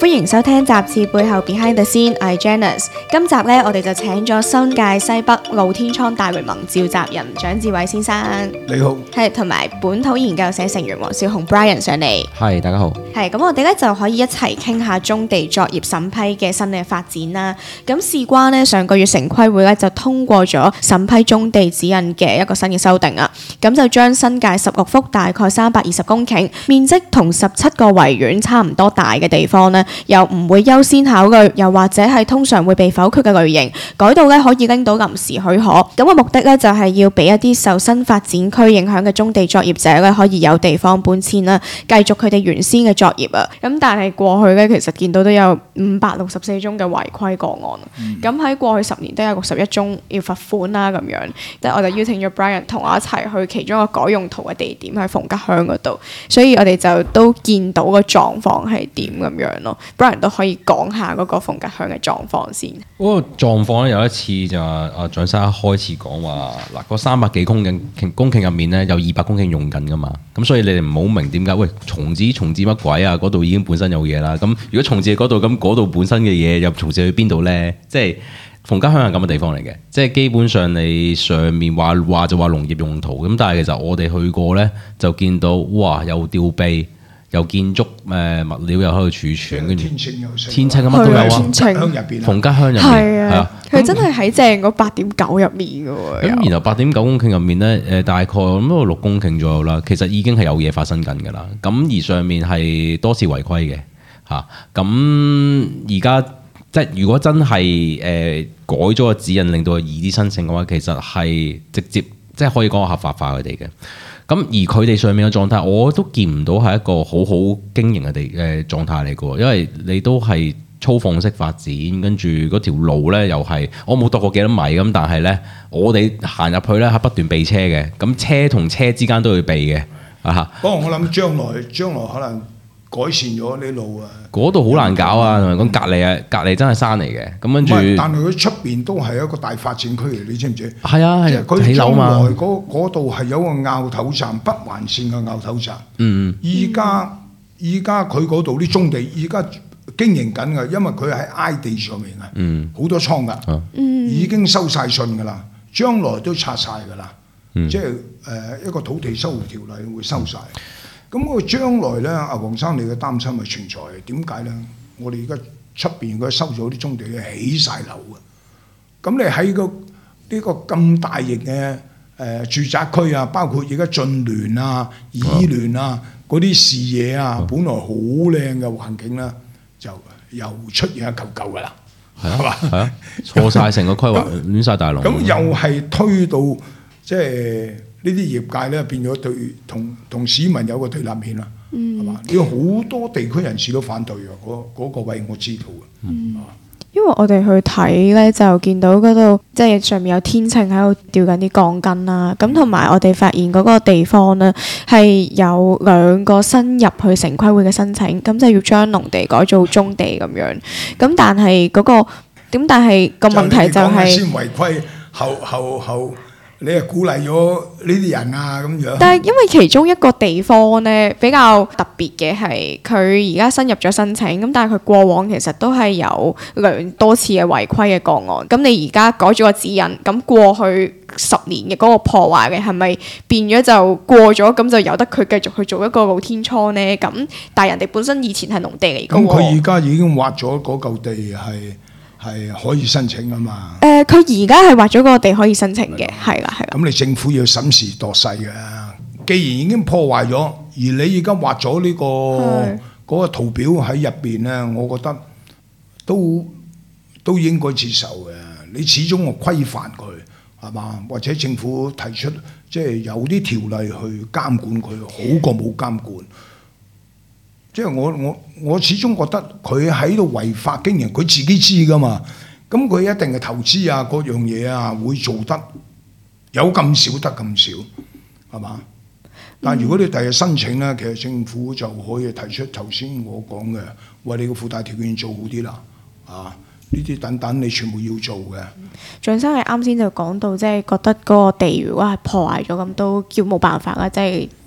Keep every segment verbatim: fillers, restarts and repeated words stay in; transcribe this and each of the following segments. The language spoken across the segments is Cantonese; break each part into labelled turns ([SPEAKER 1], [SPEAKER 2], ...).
[SPEAKER 1] 歡迎收聽雜誌背後 Behind the Scene，我係 Janice。今集呢，我哋就請咗新界西北露天倉大聯盟召集人蔣志偉先生，
[SPEAKER 2] 你好，
[SPEAKER 1] 係同埋本土研究社成員黃少雄 Brian 上嚟，
[SPEAKER 3] 係大家好。
[SPEAKER 1] 係咁，我哋咧就可以一齊傾下棕地作業審批嘅新嘅發展啦。咁事關呢，上個月城規會咧就通過咗審批棕地指引嘅一個新嘅修訂啊。咁就將新界十六幅大概三百二十公頃，面積同十七個維園差唔多大嘅地方呢，又唔會優先考慮，又或者係通常會被否決嘅類型，改到咧可以拎到臨時許可。咁個目的咧就係要俾一啲受新發展區影響嘅棕地作業者咧可以有地方搬遷啦，繼續佢哋原先嘅作業啊。咁但係過去咧其實見到都有五百六十四宗嘅違規個案。咁喺、嗯、過去十年都有六十一宗要罰款啦咁樣。即係我就邀請咗 Brian 同我一齊去其中一個改用途嘅地點喺鳳吉鄉嗰度，所以我哋就都見到個狀況係點咁樣咯。Brian 都可以講下嗰個鳳吉鄉嘅狀況先。
[SPEAKER 3] 嗰個狀況咧有一次就話阿蔣生一開始講話嗱，嗰三百幾公頃公頃入面咧有二百公頃用緊噶嘛，咁所以你哋唔好明點解喂重置重置乜鬼啊？嗰度已經本身有嘢啦，咁如果重置嗰度，咁嗰度本身嘅嘢又重置去邊度咧？即係鳳吉鄉係咁嘅地方嚟嘅，即係基本上你上面話話就話農業用途，咁但係其實我哋去過咧就見到哇有吊臂。有建築誒物料又喺度儲存，跟住天秤咁乜都有啊！鳳吉鄉入邊，鳳吉鄉入面係啊，佢
[SPEAKER 1] 真係喺正嗰八點九入面嘅喎。
[SPEAKER 3] 咁然後八點九公頃入面咧，誒大概咁都六公頃左右啦。其實已經係有嘢發生緊㗎啦。咁而上面係多次違規嘅嚇。咁而家即係如果真係誒改咗個指引，令到佢易啲申請嘅話，其實係直接即係可以講合法化佢哋嘅。咁而佢哋上面嘅狀態，我都見唔到係一個好好經營嘅地誒狀態嚟嘅喎，因為你都係粗放式發展，跟住嗰條路咧又係我冇度過幾多米咁，但係咧我哋行入去咧係不斷避車嘅，咁車同車之間都要避嘅啊！
[SPEAKER 2] 不過我諗將來將來可能改善咗啲路啊，
[SPEAKER 3] 嗰度好難搞啊！同埋講隔離啊，隔離真係山嚟嘅，咁跟住，
[SPEAKER 2] 但係佢出邊都係一個大發展區嚟，你知唔知？
[SPEAKER 3] 係啊係啊，
[SPEAKER 2] 佢
[SPEAKER 3] 起樓嘛。
[SPEAKER 2] 嗰度係有個拗頭站，北環線嘅拗頭站。
[SPEAKER 3] 嗯嗯。
[SPEAKER 2] 依家依家佢嗰度啲棕地，依家經營緊嘅，因為佢喺 I 地上面啊，
[SPEAKER 3] 嗯，
[SPEAKER 2] 好多倉㗎，嗯，已經收晒信㗎啦，將來都拆晒㗎啦，嗯、即係誒、呃、一個土地收回條例會收晒。嗯咁我將來咧，阿黃生你嘅擔心係存在嘅，點解咧？我哋而家出邊佢收咗啲棕地咧，起晒樓嘅。咁你喺個呢個咁大型嘅誒住宅區啊，包括而家駿聯啊、怡聯啊嗰啲視野啊，本來好靚嘅環境啦，就又出現一嚿嚿噶啦，係嘛？
[SPEAKER 3] 係啊，錯晒成個規劃，亂晒大龍。
[SPEAKER 2] 咁又係推到即係。呢啲業界咧變咗對同同市民有個對立面啦，係嘛、嗯？有好多地區人士都反對嘅，嗰、嗰個位我知道嘅。嗯，吧
[SPEAKER 1] 因為我哋去睇咧，就見到嗰度即係上面有天秤喺度吊緊啲鋼筋啦。咁同埋我哋發現嗰個地方咧係有兩個新入去城規會嘅申請，咁就要將農地改做棕地咁樣。咁但係嗰、嗰個點？但係個問題就係、是、
[SPEAKER 2] 先違規，後後後。你係鼓勵咗呢啲人啊咁樣？
[SPEAKER 1] 但係因為其中一個地方咧比較特別嘅係，佢而家新入咗申請，咁但係佢過往其實都係有兩多次嘅違規嘅個案。咁你而家改咗個指引，咁過去十年嘅嗰個破壞嘅係咪變咗就過咗？咁就由得佢繼續去做一個露天倉咧？咁但係人哋本身以前係農地嚟嘅喎。
[SPEAKER 2] 咁佢而家已經挖咗嗰嚿地係。係可以申請啊嘛！
[SPEAKER 1] 誒、呃，佢而家係劃咗個地可以申請嘅，係啦，係啦。
[SPEAKER 2] 咁你政府要審時度勢嘅。既然已經破壞咗，而你而家劃咗呢個嗰的個圖表喺入邊咧，我覺得都都應該接受嘅。你始終我規範佢係嘛？或者政府提出即係有啲條例去監管佢，好過冇監管。即係我我我始終覺得佢喺度違法經營，佢自己知噶嘛。咁佢一定係投資啊，各樣嘢啊，會做得有咁少得咁少，係嘛？但係如果你第日申請咧，其實政府就可以提出頭先我講嘅，為你個附帶條件做好啲啦，啊！呢啲等等你全部要做嘅。
[SPEAKER 1] 蔣生係啱先就講到，即係覺得嗰個地如果係破壞咗，咁都叫冇辦法啦，即係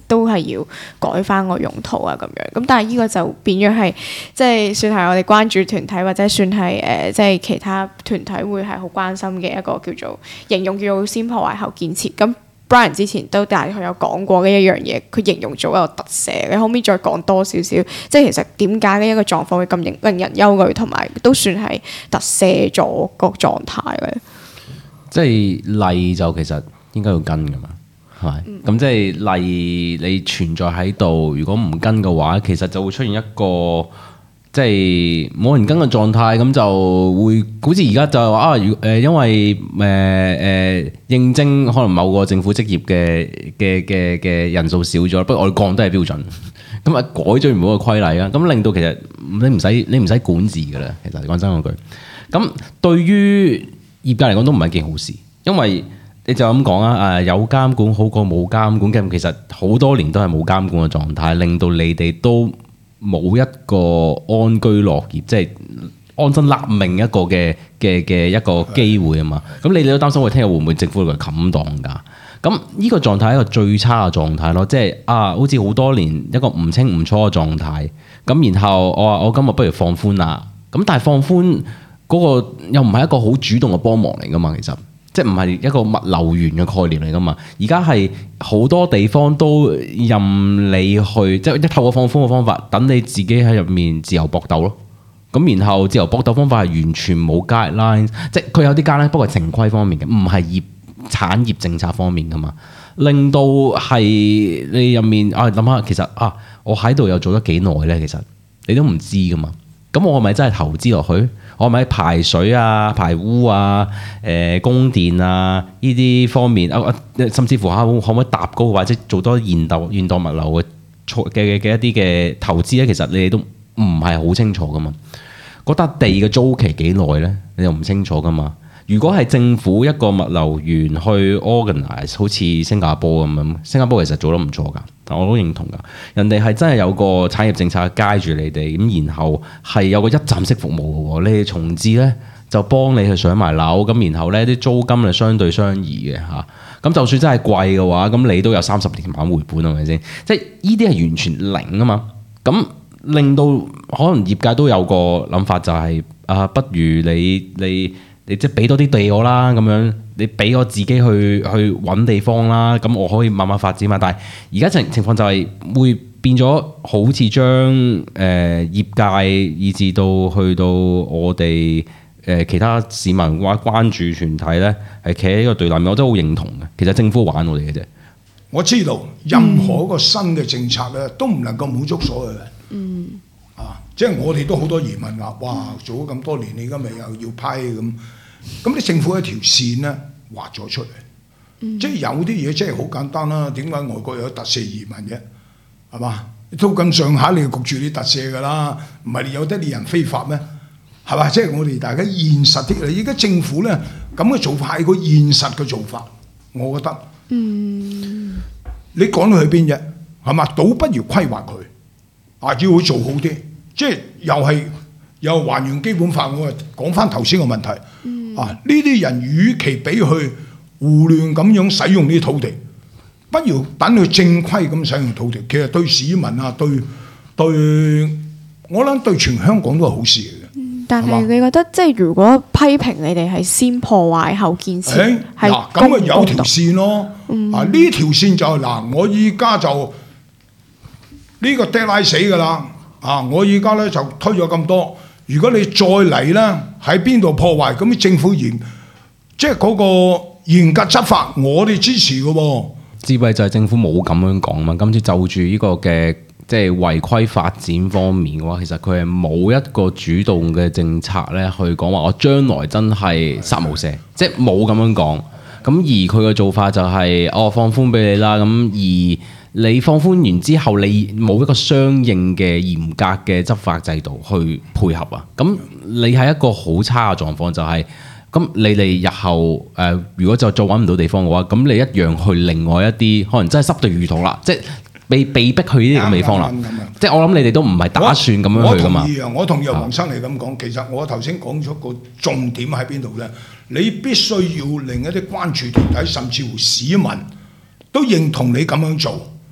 [SPEAKER 1] 都係要改翻個用途啊咁樣。咁但係呢個就變咗係即係算係我哋關注團體或者算係誒、呃、即係其他團體會係好關心嘅一個叫做形容叫做先破壞後建設。咁 Brian 之前都大概有講過嘅一樣嘢，佢形容做一個特赦。你可唔可以再講多少少？即係其實點解呢一個狀況會咁令人憂慮，同埋都算係特赦咗個狀態咧？
[SPEAKER 3] 即係例就其實應該要跟㗎嘛，係咪？咁、嗯、即係例你存在喺度，如果唔跟嘅話，其實就會出現一個即係冇人跟嘅狀態，咁就會好似而家就係話啊，如誒因為誒誒、呃呃、應徵可能某個政府職業嘅嘅嘅嘅人數少咗，不過我哋降低係標準，咁啊改咗原本個規例啊，咁令到其實你唔使你唔使管治㗎啦，其實講真嗰句，咁對於業界嚟講都唔係件好事，因為你就咁講啊，誒有監管好過冇監管嘅，其實好多年都係冇監管嘅狀態，令到你哋都冇一個安居樂業，即係安身立命一個嘅嘅嘅一個機會啊嘛。咁你哋都擔心，我聽日會唔會政府嚟冚檔㗎？咁呢個狀態係一個最差嘅狀態咯，即係啊，好似好多年一個唔清唔楚嘅狀態。咁然後我話我今日不如放寬啦，咁但係放寬嗰個又唔係一個好主動嘅幫忙嚟㗎嘛，其實。即係唔係一個物流園嘅概念嚟㗎嘛？而家係好多地方都任你去，即係一透過放寬嘅方法，等你自己喺入面自由搏鬥咯。咁然後自由搏鬥方法係完全冇 guideline，即係佢有啲 guideline，不過係程規方面嘅，唔係業產業政策方面㗎嘛。令到係你入面啊諗下，其實啊，我喺度又做得幾耐咧？其實你都唔知㗎嘛。咁我係咪真係投資落去？我係咪排水啊、排污啊、誒、呃、供電啊呢啲方面啊，甚至乎嚇可唔可以搭高或者做多現代現代物流嘅嘅嘅一啲嘅投資咧？其實你哋都唔係好清楚噶嘛。嗰笪地嘅租期幾耐咧？你又唔清楚噶嘛。如果係政府一個物流園去 organize， 好似新加坡咁樣，新加坡其實做得唔錯㗎，我都認同㗎。人哋係真係有個產業政策街住你哋，咁然後係有個一站式服務嘅喎。你哋重置咧就幫你去上埋樓，咁然後咧啲租金係相對相宜嘅嚇。咁就算真係貴嘅話，咁你都有三十年晚回本係咪先？即係呢啲係完全零啊嘛。咁令到可能業界都有個諗法，就係、是、啊，不如你你。你即係俾多啲地我啦，咁樣你俾我自己去去揾地方啦，咁我可以慢慢發展嘛。但係而家情情況就係會變咗，好似將誒業界以至到去到我哋誒、呃、其他市民或關注團體咧，係企喺呢個對立面，我都好認同嘅。其實政府玩我哋嘅啫。
[SPEAKER 2] 我知道任何一個新嘅政策咧，都唔能夠滿足所有人。嗯。啊，即係我哋都好多疑問話，哇！做咗咁多年，你而家咪又要批咁？咁你政府一條線咧畫咗出嚟，嗯、即係有啲嘢真係好簡單啦。點解外國有特赦移民嘅？係嘛？到咁上下你焗住你特赦㗎啦，唔係有得你人非法咩？係嘛？即係我哋大家現實啲啦。而家政府咧咁嘅做法係個現實嘅做法，我覺得。嗯。你講到去邊啫？係嘛？倒不如規劃佢。啊！要佢做好啲，即係又係又還原基本法。我係講翻頭先個問題。嗯、啊！呢啲人與其俾佢胡亂咁樣使用呢啲土地，不如等佢正規咁使用土地。其實對市民啊，對對，我諗對全香港都係好事嚟嘅。
[SPEAKER 1] 嗯、但係你覺得即係如果批評你哋係先破壞後建設，係
[SPEAKER 2] 嗱咁啊有條線咯。嗯、啊呢條線就係、是、嗱，我依家就。呢個 deadline 死㗎啦！啊，我而家咧就推咗咁多，如果你再嚟咧喺邊度破壞，咁政府嚴即係嗰個嚴格執法，我哋支持嘅喎。
[SPEAKER 3] 智慧就係政府冇咁樣講嘛。今次就住呢個嘅即係違規發展方面嘅話，其實佢係冇一個主動嘅政策咧去講話我將來真係殺無赦，即係冇咁樣講。咁而佢嘅做法就係、是、哦放寬俾你啦，咁而。你放寬完之後，你冇一個相應嘅嚴格嘅執法制度去配合啊！咁你係一個好差嘅狀況，就係、是、咁你哋日後誒、呃，如果就再揾唔到地方嘅話，咁你一樣去另外一啲可能真係濕地魚塘啦，即係被被逼去呢啲咁嘅地方啦。即係我諗你哋都唔係打算咁樣去噶嘛。我同意啊！我同意黃生你咁講，其實我頭先講咗個重點喺邊度咧？你必須要令一啲關注團體甚至乎市民都認同你咁樣做。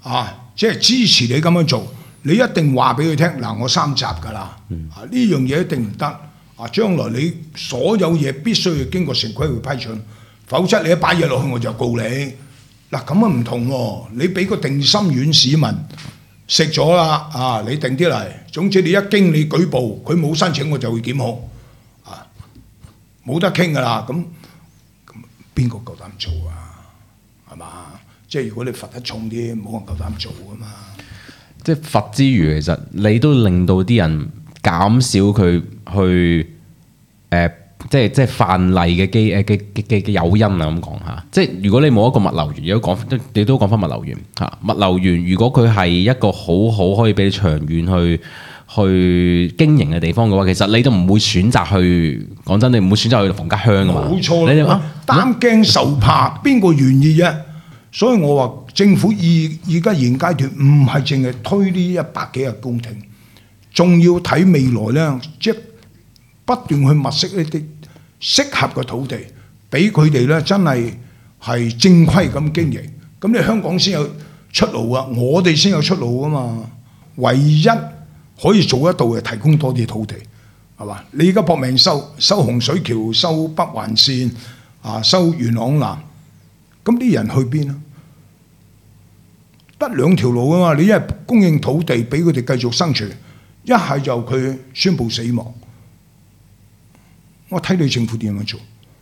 [SPEAKER 2] 啊，即係支持你咁樣做，你一定話俾佢聽嗱，我三集㗎啦，啊呢樣嘢一定唔得，啊將來你所有嘢必須要經過城規會批准，否則你一擺嘢落去我就告你。嗱咁啊唔同喎，你俾個定心丸市民食咗啦，啊你定啲嚟，總之你一經你舉報，佢冇申請我就會檢控，啊冇得傾㗎啦，咁咁邊個夠膽做啊？係嘛？即係如果你罰得重啲，冇人夠膽做㗎嘛。
[SPEAKER 3] 即係罰之餘，其實你都令到啲人減少佢去誒、呃，即係即係犯例嘅機誒嘅嘅嘅誘因啊！咁講嚇，即係如果你冇一個物流園，如果講你都講翻物流園嚇，物流園如果佢係一個好好可以俾你長遠去去經營嘅地方嘅話，其實你都唔會選擇去講真，你唔會選擇去房家鄉㗎嘛。
[SPEAKER 2] 冇錯，
[SPEAKER 3] 你哋話
[SPEAKER 2] 擔驚受怕，邊個願意啫？所以我話政府而而家現階段唔係淨係推呢一百幾日工程，仲要睇未來咧，即係不斷去物色呢啲適合嘅土地，俾佢哋咧真係係正規咁經營。咁你香港先有出路啊，我哋先有出路啊嘛。唯一可以做得到嘅，提供多啲土地，係嘛？你而家搏命收收洪水橋、收北環線啊、收元朗南。咁啲人去邊啊？得兩條路啊嘛！你一係供應土地俾佢哋繼續生存，一係就佢宣布死亡。我睇你政府點樣做，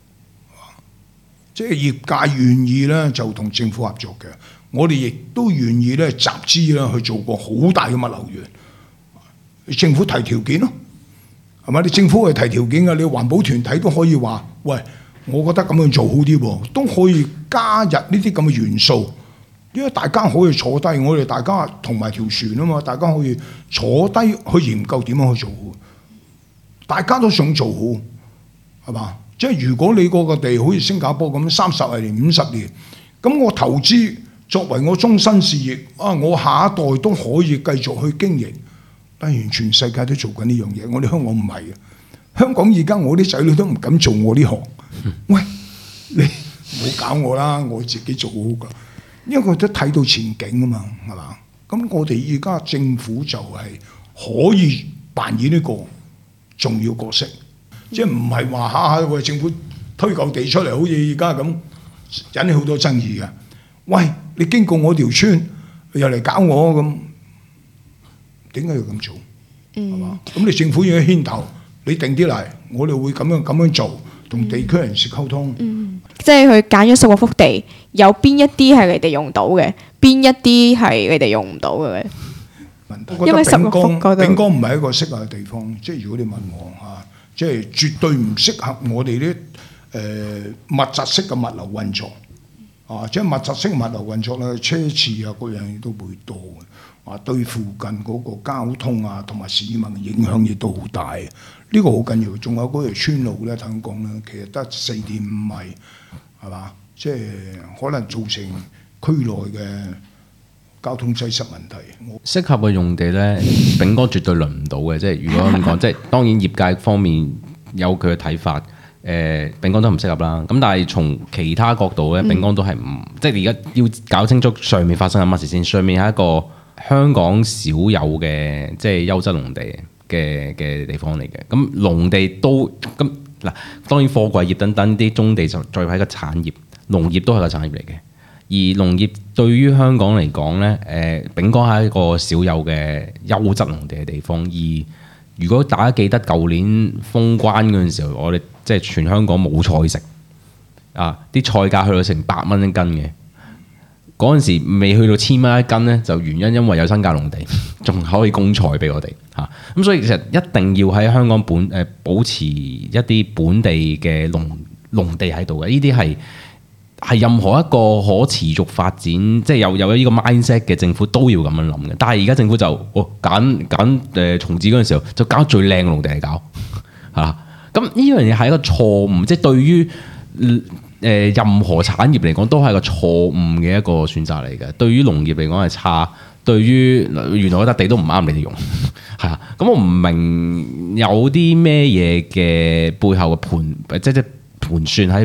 [SPEAKER 2] 即係業界願意咧就同政府合作嘅，我哋亦都願意咧集資啦去做個好大嘅物流園。政府提條件咯，係咪？你政府係提條件嘅，你環保團體都可以話：喂，我覺得咁樣做好啲喎，都可以加入呢啲咁嘅元素，因為大家可以坐低，我哋大家同埋條船啊嘛，大家可以坐低去研究點樣去做好，大家都想做好，係嘛？即係如果你嗰個地好似新加坡咁三十年、五十年，咁我投資作為我終身事業啊，我下一代都可以繼續去經營。當然全世界都做緊呢樣嘢，我哋香港唔係嘅。香港而家我啲仔女都唔敢做我呢行。喂，你唔好搞我啦，我自己做好㗎。因為佢都睇到前景啊嘛，係嘛？咁我哋而家政府就係可以扮演呢個重要角色，即係唔係話下下為政府推嚿地出嚟，好似而家咁引起好多爭議嘅。喂，你經過我條村又嚟搞我咁。點解要咁做？係嘛？咁你政府要牽頭，你定啲嚟，我哋會咁樣咁樣做，同地區人士溝通。
[SPEAKER 1] 嗯，即係佢揀咗十個幅地，有邊一啲係你哋用到嘅，邊一啲係你哋用唔到嘅咧？因為十個幅嗰度，
[SPEAKER 2] 丙江唔係一個適合嘅地方。即係如果你問我嚇，即係絕對唔適合我哋啲誒密集式嘅物流運作。啊，即係密集式物流運作咧，車次啊各樣嘢都會多嘅。啊，對附近嗰個交通啊，同埋市民嘅影響亦都好大，呢、這個好緊要。仲有嗰條村路咧，聽講咧，其實得四點五米，係嘛？即係可能造成區內嘅交通擠塞問題。
[SPEAKER 3] 適合嘅用地咧，丙江絕對輪唔到嘅。即係如果咁講，即係當然業界方面有佢嘅睇法，誒、呃，丙江都唔適合啦。咁但係從其他角度咧，丙江都係唔，嗯、即係而家要搞清楚上面發生緊乜事先。上面係一個香港少有嘅即係優質農地嘅嘅地方嚟嘅，咁農地都咁嗱，當然貨櫃業等等啲棕地就再係一個產業，農業都係個產業嚟嘅。而農業對於香港嚟講咧，誒、呃，丙江係一個少有嘅優質農地嘅地方。而如果大家記得舊年封關嗰陣時候，我哋即係全香港冇菜食啊，啲菜價去到成百蚊一斤嘅。嗰陣時未去到千蚊一斤咧，就原因因為有新界農地，仲可以供菜俾我哋嚇。咁、啊、所以其實一定要喺香港本誒、呃、保持一啲本地嘅農農地喺度嘅。呢啲係係任何一個可持續發展，即係有有呢個 mindset 嘅政府都要咁樣諗嘅。但係而家政府就哦揀揀誒重置嗰陣時候，就揀最靚嘅農地嚟搞嚇。咁呢樣嘢係一個錯誤，即係對於誒任何產業嚟講都係個錯誤嘅一個選擇嚟嘅。對於農業嚟講係差，對於原來嗰笪地都唔啱你哋用，係啊。咁我唔明有啲咩嘢嘅背後嘅盤，即係即係盤算喺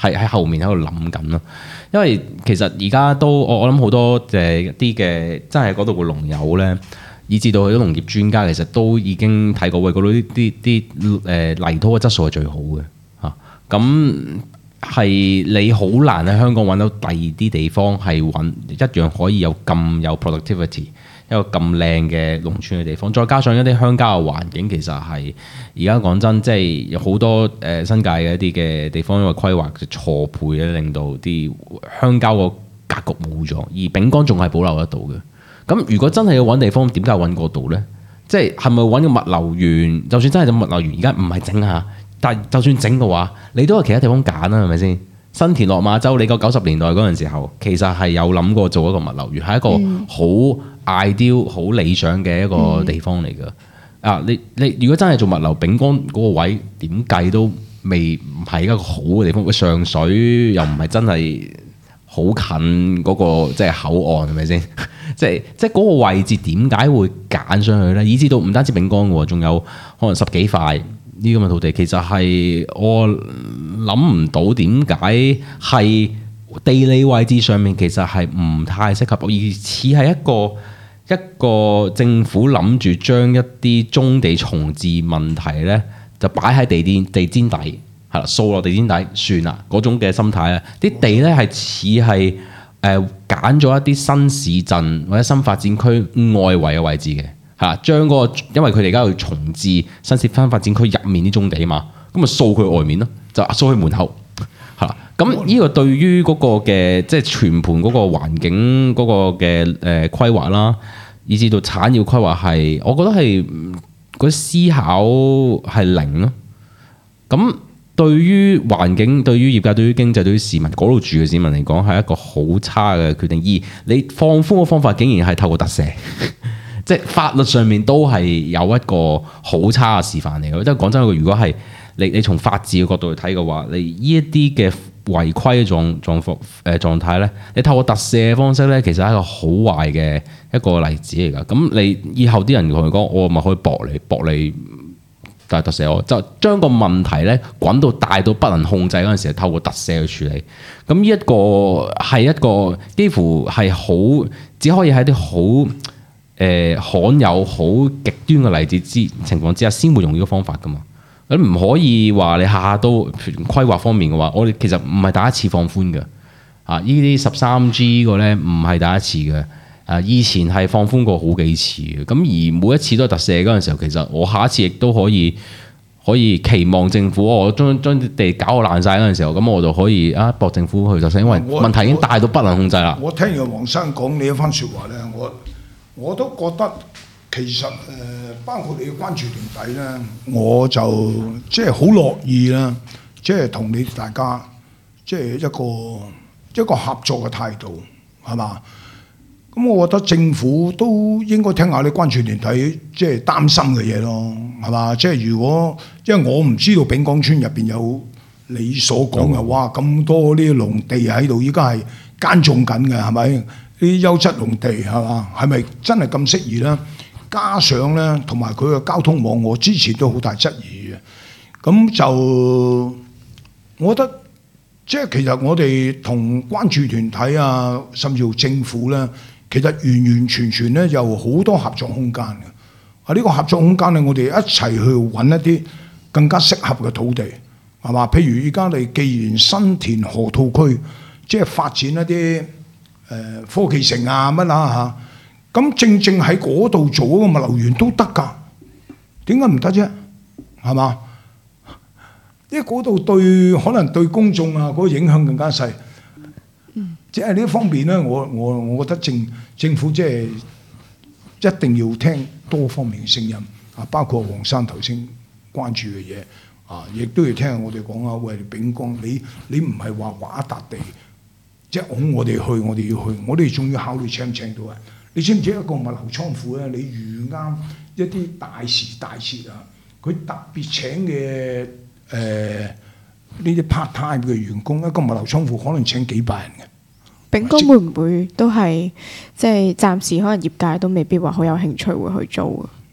[SPEAKER 3] 係喺後面喺度諗緊咯。因為其實而家都我我諗好多誒一啲嘅真係嗰度嘅農友咧，以至到佢啲農業專家其實都已經睇過，喂，嗰度啲啲啲誒泥土嘅質素係最好嘅嚇。咁係你好難喺香港揾到第二啲地方係揾一樣可以有咁有 productivity，一個咁靚嘅農村嘅地方，再加上一啲鄉郊嘅環境，其實係而家講真，即係有好多誒、呃、新界嘅一啲嘅地方，因為規劃嘅錯配咧，令到啲鄉郊個格局冇咗，而丙江仲係保留得到嘅。咁如果真係要揾地方，點解揾嗰度呢？即係係咪揾個物流園？就算真係個物流園，而家唔係整下。但係就算整嘅話，你都有其他地方揀啦，係咪先？新田落馬洲，你個九十年代嗰陣時候，其實係有諗過做一個物流園，係一個好 ideal、好理想嘅一個地方嚟㗎。嗯、啊，你你如果真係做物流，丙江嗰個位點計都未唔係一個好嘅地方。上水又唔係真係好近嗰個即係口岸，係咪先？即係即係嗰個位置點解會揀上去呢？以至到唔單止丙江喎，仲有可能十幾塊。呢咁嘅土地其實係我諗唔到點解係地理位置上面其實係唔太適合，而似係一個一個政府諗住將一啲棕地重置問題呢，就擺喺地墊地氈底，係啦，掃落地氈底算啦嗰種嘅心態啊！啲地呢係似係誒揀咗一啲新市鎮或者新發展區外圍嘅位置嘅。嚇，將嗰個，因為佢哋而家要重置新設翻發展區入面啲棕地嘛，咁咪掃佢外面咯，就掃佢門口嚇。咁呢個對於嗰個嘅即係全盤嗰個環境嗰個嘅誒規劃啦，以至到產業規劃係，我覺得係嗰啲思考係零咯。咁對於環境、對於業界、對於經濟、對於市民嗰度住嘅市民嚟講，係一個好差嘅決定。而你放寬嘅方法，竟然係透過特赦。即係法律上面都係有一個好差嘅示範嚟嘅。即係講真，如果係你你從法治嘅角度去睇嘅話，你呢一啲嘅違規嘅狀狀況誒狀態咧，你透過特赦嘅方式咧，其實係一個好壞嘅一個例子嚟㗎。咁你以後啲人同佢講，我咪可以駁你駁你，但係特赦我就將個問題咧滾到大到不能控制嗰陣時，透過特赦去處理。咁呢一個係一個幾乎係好只可以喺啲好誒、呃、罕有好極端嘅例子之情況之下，先會用呢個方法噶嘛。咁唔可以話你下下都規劃方面嘅話，我哋其實唔係第一次放寬嘅。啊，呢啲十三 G 個咧唔係第一次嘅。啊，以前係放寬過好幾次嘅。咁而每一次都係特赦嗰陣時候，其實我下一次亦都可以可以期望政府，我將將啲地搞到爛晒嗰陣時候，咁我就可以啊駁政府去特赦，因為問題已經大到不能控制啦。
[SPEAKER 2] 我聽完黃生講你一番説話咧，我。我都覺得其實誒、呃，包括你嘅關注團體咧，我就即係好樂意啦，即係同你大家即係一個一個合作嘅態度，係嘛？咁我覺得政府都應該聽下你關注團體即係擔心嘅嘢咯，係嘛？即係如果因為我唔知道丙江村入邊有你所講嘅哇咁多呢啲農地喺度，依家係耕種緊嘅，係咪？啲優質農地係嘛？係咪真係咁適宜咧？加上咧，同埋佢嘅交通網，我之前都好大質疑嘅。咁就我覺得，即係其實我哋同關注團體啊，甚至乎政府咧，其實完完全全咧有好多合作空間嘅。啊，呢個合作空間咧，我哋一齊去揾一啲更加適合嘅土地，係嘛？譬如而家你既然新田河套區，即係發展一啲。誒科技城啊乜啦嚇，咁正正喺嗰度做嗰個物流園都得㗎，點解唔得啫？係嘛？因為嗰度對可能對公眾啊嗰個影響更加細。嗯，即係呢一方面咧，我我我覺得政政府即係一定要聽多方面嘅聲音啊，包括黃生頭先關注嘅嘢啊，亦都要聽我哋講啊。喂，丙江，你你唔係話畫一笪地。即係我我哋去，我哋要去，我哋仲要考慮請唔請到人。你知唔知一個物流倉庫咧？你預啱一啲大時大節啊，佢特別請嘅誒呢啲 part time 嘅員工，一個物流倉庫可能請幾百人嘅。
[SPEAKER 1] 丙江會唔會都係即係暫時可能業界都未必話好有興趣會去做啊？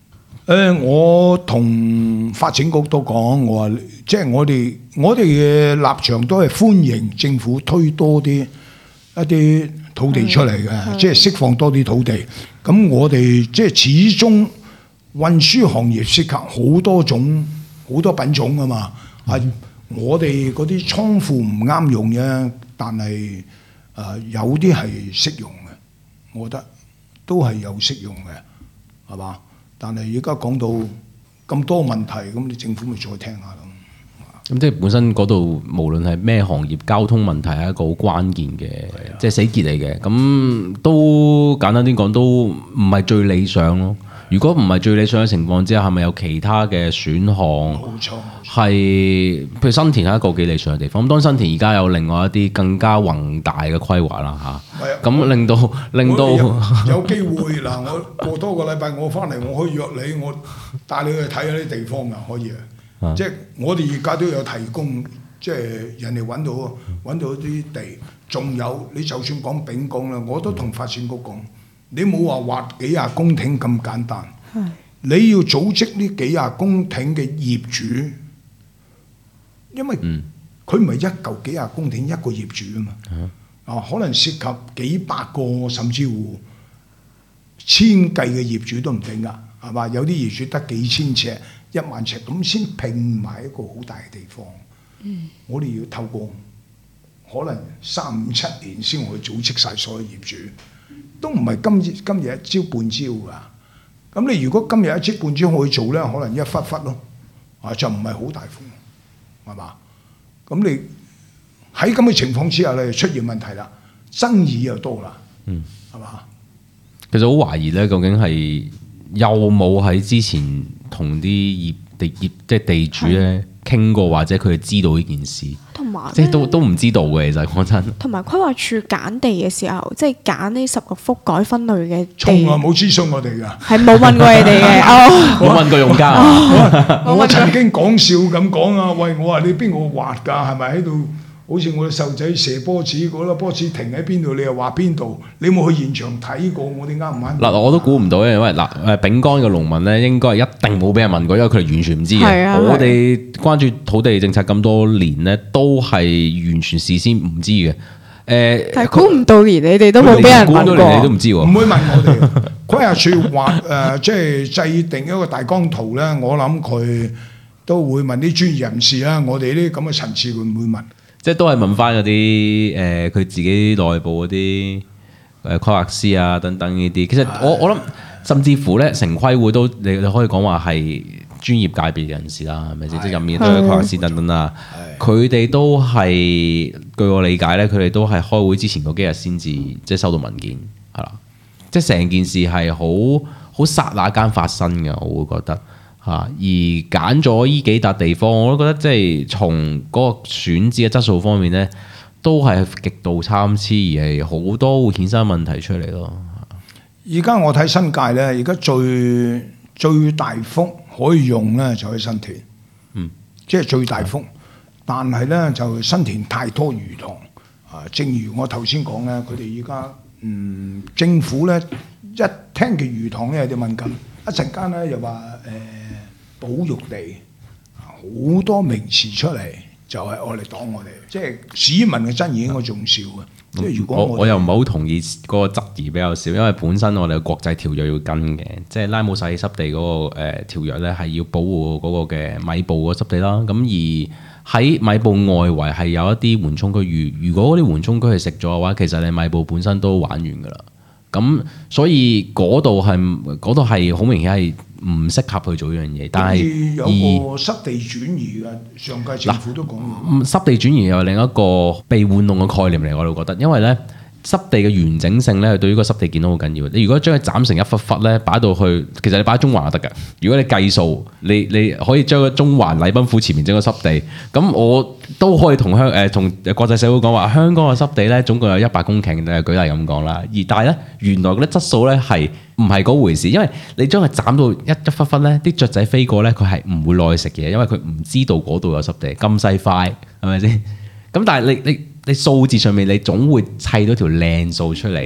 [SPEAKER 2] 誒，我同發展局都講，我話即係我哋我哋嘅立場都係歡迎政府推多啲一啲土地出嚟嘅，即係釋放多啲土地。咁我哋即係始終運輸行業涉及好多種好多品種㗎嘛。啊、嗯，我哋嗰啲倉庫唔啱用嘅，但係誒、呃、有啲係適用嘅，我覺得都係有適用嘅，係嘛？但係而家講到咁多問題，咁你政府咪再聽下咯。
[SPEAKER 3] 咁即係本身嗰度無論係咩行業，交通問題係一個好關鍵嘅，即係死結嚟嘅。咁都簡單啲講，都唔係最理想咯。如果唔係最理想嘅情況之下，係咪有其他嘅選項？冇錯，係譬如新田係一個幾理想嘅地方。咁當新田而家有另外一啲更加宏大嘅規劃啦嚇。咁令到令到
[SPEAKER 2] 有，有機會嗱，我過多個禮拜我翻嚟，我可以約你，我帶你去睇下啲地方㗎，可以啊。即係我哋而家都有提供，即係人哋揾到揾到啲地，仲有你就算講丙江啦，我都同發展局講。你冇話劃幾廿公頃咁簡單，你要組織呢幾廿公頃嘅業主，因為佢唔係一嚿幾廿公頃一個業主啊嘛，啊可能涉及幾百個甚至乎千計嘅業主都唔定㗎，係嘛？有啲業主得幾千尺、一萬尺咁先拼埋一個好大嘅地方。嗯、我哋要透過可能三五七年先可以組織晒所有業主。都唔係今日今日一朝半朝㗎，咁你如果今日一朝半朝可以做咧，可能一忽忽咯，啊就唔係好大風，係嘛？咁你喺咁嘅情況之下咧，出現問題啦，爭議又多啦，嗯，係嘛？
[SPEAKER 3] 其實好懷疑咧，究竟係有冇喺之前同啲業地業即係地主咧傾過，或者佢哋知道呢件事？同埋即係都都唔知道嘅，其實講真。同埋規劃處揀地嘅時候，即係揀呢十個幅改分類嘅地，
[SPEAKER 2] 從來冇諮詢我哋㗎，
[SPEAKER 1] 係冇問過你哋嘅，哦，冇問過用家。
[SPEAKER 2] 我我曾經講笑咁講啊，喂，我話你邊個畫㗎？係咪喺度？好似我哋細路仔射波子嗰粒波子停喺邊度，你又話邊度？你冇去現場睇過，我哋啱唔啱？嗱，我都估唔到嘅，因為嗱誒丙江嘅農民咧，應該係一定冇俾人問過，因為佢哋完全唔知嘅。啊、我哋關注土地政策咁多年咧，都係完全事先唔知嘅。誒、呃，
[SPEAKER 1] 但係估唔到連你哋都冇俾人問過，
[SPEAKER 3] 估唔到你都唔知喎。
[SPEAKER 2] 唔會問我哋。規劃處畫誒，即係制定一個大綱圖咧，我諗佢都會問啲專業人士啦。我哋呢啲咁嘅層次會唔會問？即係都係問翻嗰啲誒佢自己內部嗰啲誒規劃師啊等等呢啲。其實我我諗甚至乎咧，城規會都你你可以講話係專業界別人士啦，係咪先？即係入面都有規劃師等等啦。佢哋都係據我理解咧，佢哋都係開會之前嗰幾日先至即係收到文件係啦。即係成件事係好好剎那間發生嘅，我會覺得。嚇！而揀咗依幾笪地方，我都覺得即係從嗰個選址嘅質素方面咧，都係極度參差，而係好多會衍生問題出嚟咯。 而家我睇新界咧，而家最最大幅可以用咧就喺新田，嗯，即係最大幅。但係咧就新田太多魚塘啊！正如我頭先講咧，佢哋而家嗯政府咧一聽嘅魚塘咧有啲敏感，一陣間咧又話誒。呃保育地好多名詞出嚟，就係愛嚟擋我哋，即係市民嘅爭議應該仲少嘅。即係如果我
[SPEAKER 3] 我，我又唔係好同意嗰個質疑比較少，因為本身我哋嘅國際條約要跟嘅，即係拉姆薩濕地嗰、嗰個誒、呃、條約咧係要保護嗰個嘅米埔嗰濕地啦。咁而喺米埔外圍係有一啲緩衝區，如如果嗰啲緩衝區係食咗嘅話，其實你米埔本身都玩完㗎啦。咁所以嗰度係嗰度係好明顯係唔適合去做呢樣嘢，但係
[SPEAKER 2] 有個濕地轉移嘅，上屆政府都講過。
[SPEAKER 3] 濕地轉移又係另一個被玩弄嘅概念嚟，我都覺得，因為咧濕地嘅完整性咧，對於個濕地健康好緊要。你如果將佢斬成一忽忽咧，擺到去，其實你擺喺中環就得㗎。如果你計數，你你可以將個中環禮賓府前面整個濕地，咁我都可以同香誒同國際社會講話，香港嘅濕地咧總共有一百公頃，誒舉例咁講啦。而但係咧，原來嗰啲質素咧係唔係嗰回事，因為你將佢斬到一一忽忽咧，啲雀仔飛過咧，佢係唔會落去食嘢，因為佢唔知道嗰度有濕地咁細塊，係咪先？咁但係你你。你數字上面你總會砌到條靚數出嚟，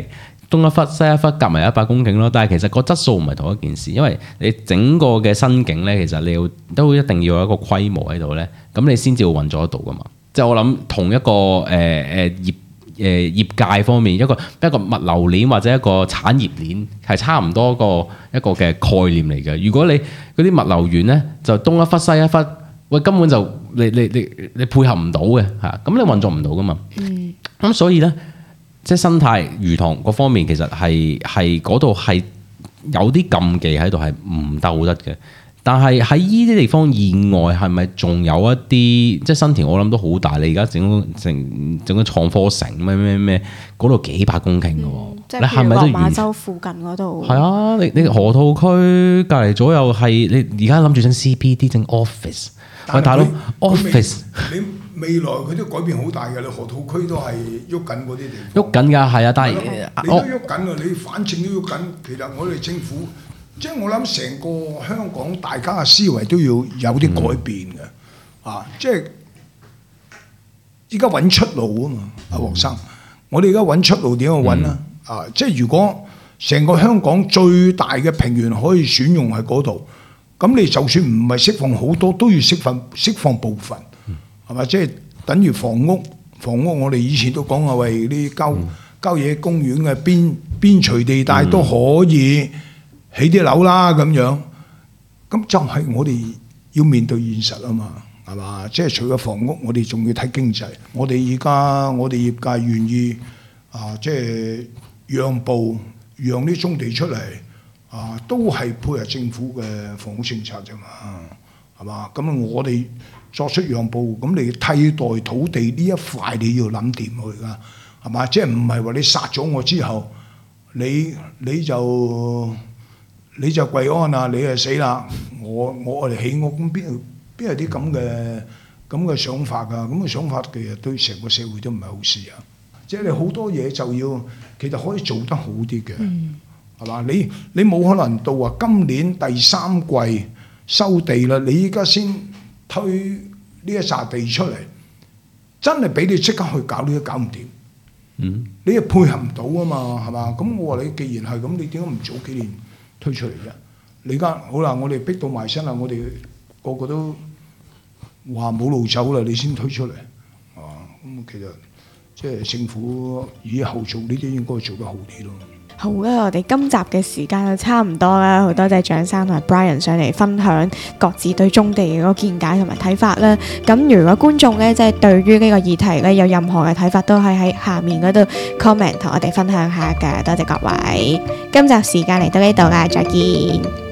[SPEAKER 3] 東一忽西一忽夾埋一百公頃咯。但係其實個質素唔係同一件事，因為你整個嘅新境咧，其實你要都一定要有一個規模喺度咧，咁你先至會運作得到噶嘛。即係我諗同一個誒誒、呃、業。誒業界方面一個一個物流鏈或者一個產業鏈係差唔多個一個嘅概念嚟嘅。如果你嗰啲物流園咧就東一忽西一忽，喂根本就你你你你配合唔到嘅嚇，咁你運作唔到噶嘛。嗯。咁所以咧，即係生態魚塘嗰方面其實係係嗰度係有啲禁忌喺度係唔鬥得嘅。但係喺依啲地方以外，係咪仲有一啲即係新田？我諗都好大。你而家整整整個創科城咩咩咩，嗰度幾百公頃嘅喎。嗯、即係譬如落馬洲附近嗰度。係啊，你你河套區隔離左右係你而家諗住整 C B D 整 office。喂，大佬 office，
[SPEAKER 2] 你未來佢都改變好大嘅。你河套區都係喐緊嗰啲地方。
[SPEAKER 3] 喐緊㗎，係啊，但係
[SPEAKER 2] 你都喐緊啊！你反正都喐緊。其實我哋政府。即係我諗成個香港大家嘅思維都要有啲改變嘅，嗯、啊！即係依家揾出路啊嘛，阿黃生，我哋而家揾出路點樣揾啊？嗯、啊！即係如果成個香港最大嘅平原可以選用喺嗰度，咁你就算唔係釋放好多，都要釋放釋放部分，係咪、嗯？即係等於房屋，房屋我哋以前都講啊，為啲郊郊野公園嘅邊邊陲地帶都可以。起啲樓啦咁樣，咁就係我哋要面對現實啊嘛，係嘛？即係除咗房屋，我哋仲要睇經濟。我哋而家我哋業界願意啊，即係讓步，讓啲棕地出嚟啊，都係配合政府嘅房屋政策啫嘛，係嘛？咁我哋作出讓步，咁你替代土地呢一塊，你要諗掂佢㗎，係嘛？即係唔係話你殺咗我之後，你你就你就跪安啊！你就死啦！我我哋起屋咁邊邊有啲咁嘅咁嘅想法㗎？咁嘅想法其實對成個社會都唔係好事啊！即係你好多嘢就要其實可以做得好啲嘅，係嘛、嗯？你你冇可能到話今年第三季收地啦，你依家先推呢一紮地出嚟，真係俾你即刻去搞你都搞唔掂。嗯，你又配合唔到啊嘛，係嘛？咁我話你既然係咁，你點解唔早幾年推出嚟啫？你而家好啦，我哋逼到埋身啦，我哋個個都話冇路走啦，你先推出嚟啊！咁其實即係政府以後做呢啲應該做得好啲咯。
[SPEAKER 1] 好啦，我哋今集嘅時間就差唔多啦，好多謝蔣生同埋 Brian 上嚟分享各自對棕地嘅嗰個見解同埋睇法啦。咁如果觀眾咧即係對於呢個議題咧有任何嘅睇法，都係喺下面嗰度 comment 同我哋分享下㗎。多謝各位，今集時間嚟到呢度啦，再見。